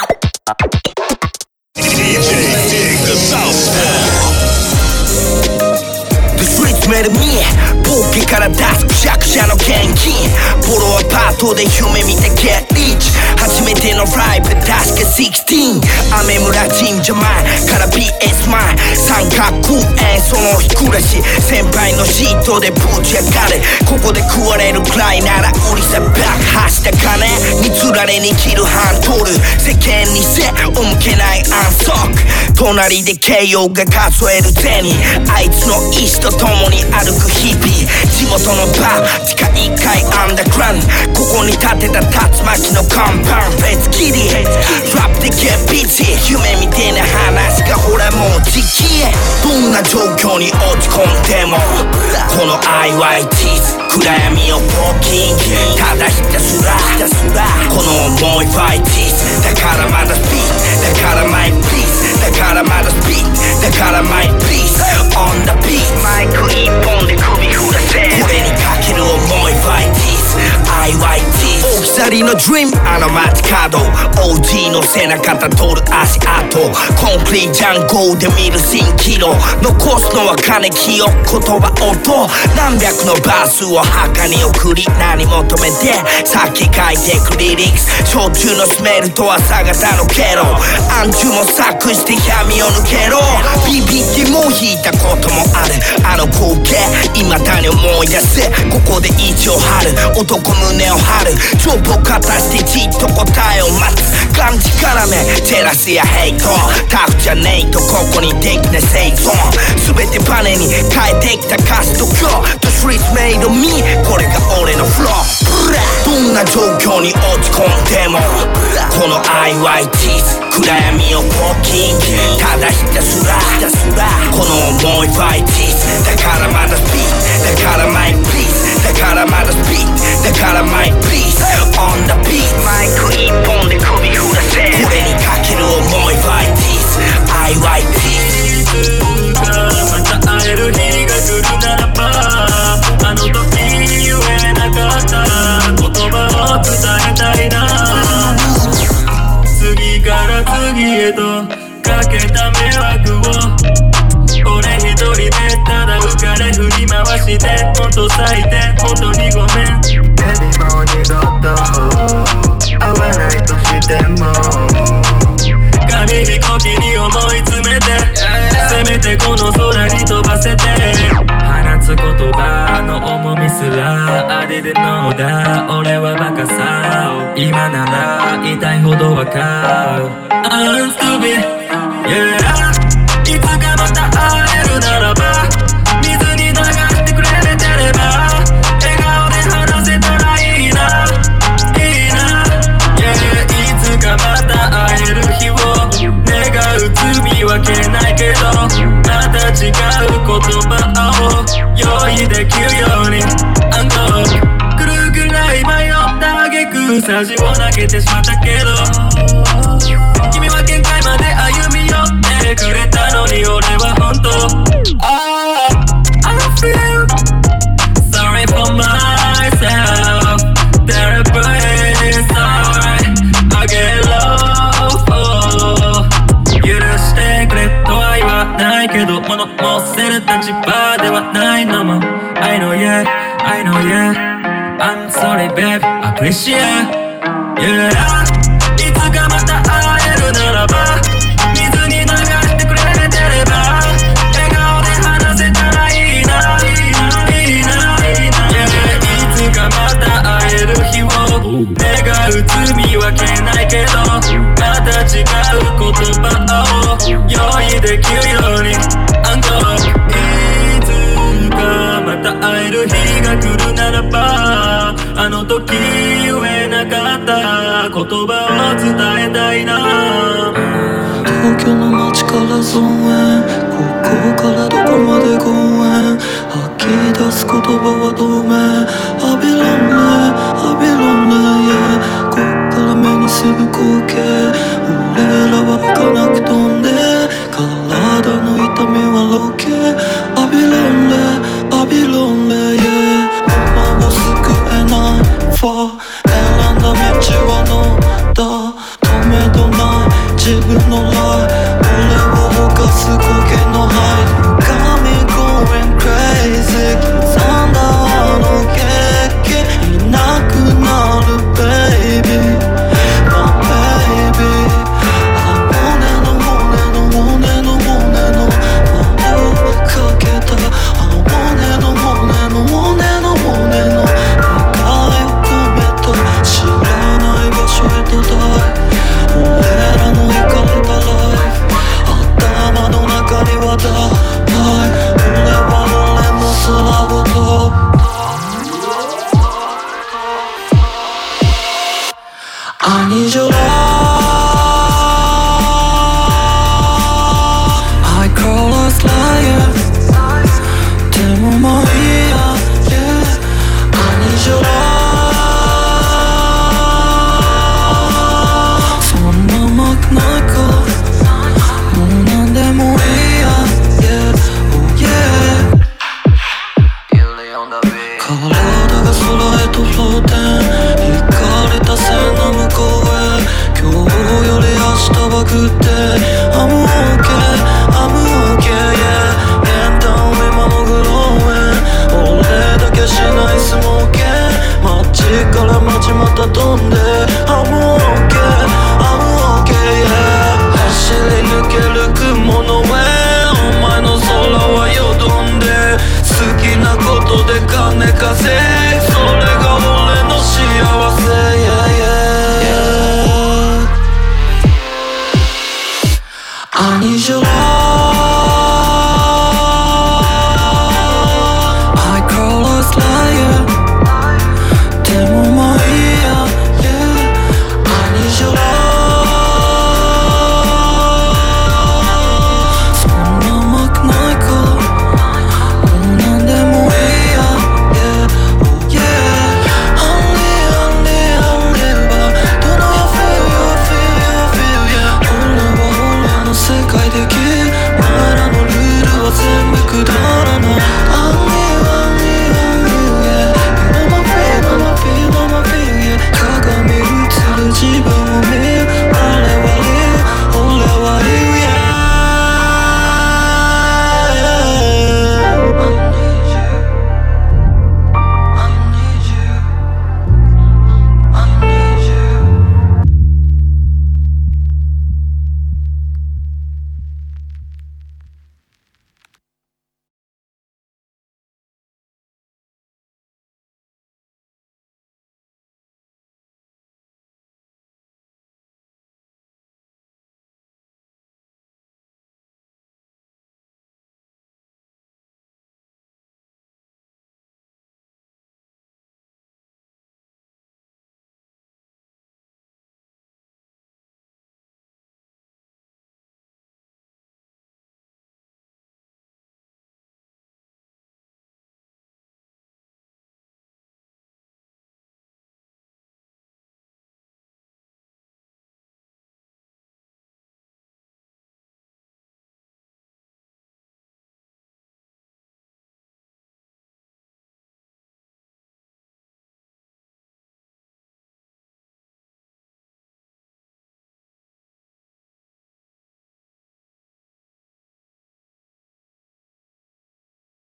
める見ポッケから出すくしゃくしゃの現金ボロアパートで夢見て Get Rich 初めてのライブ確かじゅうろく雨村神社前から ビーエス 前三角演奏の日暮らし先輩のシートでぶち上がれここで食われるくらいなら売りさ爆破した金につられに切るハンドル世間に背を向けない安息隣で慶応が数える銭あいつの意志とともに歩く日々地元のバー地下いっかいアンダーグラウンドここに建てた竜巻の看板フェイスキリラップでゲッビチ夢みてえな話がほらもう時期どんな状況に落ち込んでもこの アイワイティーズ 暗闇をウォーキングただひたすらこの思いファイティーズだからまだスピードだからマイプリーズだからまだスピードだからマイプリーズ On the beat マイク一本で首振らせこれにかける思いファイティーズ アイワイティーズ 置き去りのドリームあの街角 オージー の背中たどる足跡コンクリートジャンゴーで見る蜃気楼残すのは金清言葉音何百のバースを墓に送り何求めてさっき書いてくリリックス焼酎のスメルと朝方のケロ暗中も作して闇を抜けろビビってもう引いたこともあるあの光景未だに思い出せここで意地を張る男胸を張る丈夫を片してじっと答えを待つがんじからめジェラスやヘイトタフじゃねえとここにできない生存全てバネに変えてきた歌詞と今日 The streets made of me これが俺のフローどんな状況に落ち込んでもこの アイワイティーズ 暗闇をウォーキングただひたすらこの思いファイティーズだからまだスピードだからマイプリーズだからまだスピードだからマイプリーズ On the beat マイク一本で首振らせこれにかける思いファイティーズ アイワイティーズまた会える日が来るならばあの時言えなかった言葉を伝えたいな次から次へとかけた迷惑を俺一人でただ浮かれ振り回してほんと最低ほんとにごめん Baby もう二度と会わないとしても紙飛行機に思い詰めてせめてこの空に飛ばせて放つ言葉の重みすらあれでのだ俺はバカさ今なら痛いほどわかる I'm stupid yeah いつかまた会えるならば水に流してくれてれば笑顔で話せたらいいないいな yeah いつかまた会える日を願う罪はけないサジを投げてしまったけど君は限界まで歩み寄ってくれたのに俺は本当 oh, I feel sorry for myself Terribly sorry I get low oh, 許してくれとは言わないけど物申せる立場ではないのも I know yeah I know yeah I'm sorry babe appreciate yeah いつかまた会えるならば水に流してくれてれば笑顔で話せたらいいないいないいないいな yeah いつかまた会える日を願う罪は消えないけどまた違う言葉を用意できるようにアンコーいつかまた会える日が来るならばあの時言えなかった言葉を伝えたいな東京の街から造園ここからどこまで公園吐き出す言葉は透明アビロンねアビロンね、yeah、こっから目にする光景俺らは儚く飛んで体の痛みはロケアビロンねアビロンね、yeah、今を救えないファ選んだ道は乗った止めどない自分のライ俺を犯す苔のハイ You got me going crazy 刻んだあの劇いなくなる baby My baby あ骨の骨の骨の骨の輪をかけたあの骨の骨の骨の骨の願いを込めた知らない場所へとダイ俺らの行かれたライフ頭の中にはダイ俺は俺も空を飛ぶ I need your love